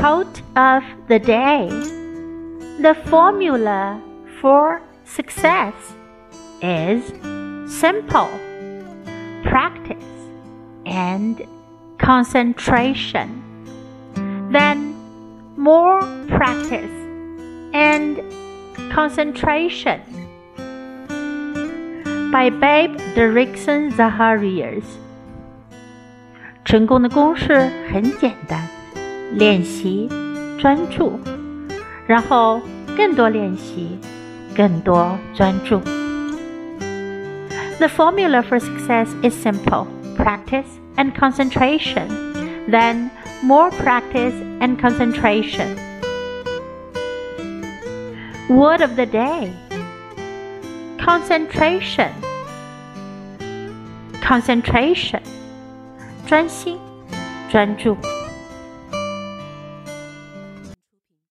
Quote of the day. The formula for success is simple: practice and concentration. Then more practice and concentration. By Babe Dirksen Zacharias。成功的公式很简单，练习，专注，然后更多练习，更多专注。The formula for success is simple: practice and concentration. Then more practice and concentration. Word of the day: concentration. Concentration. 专心，专注。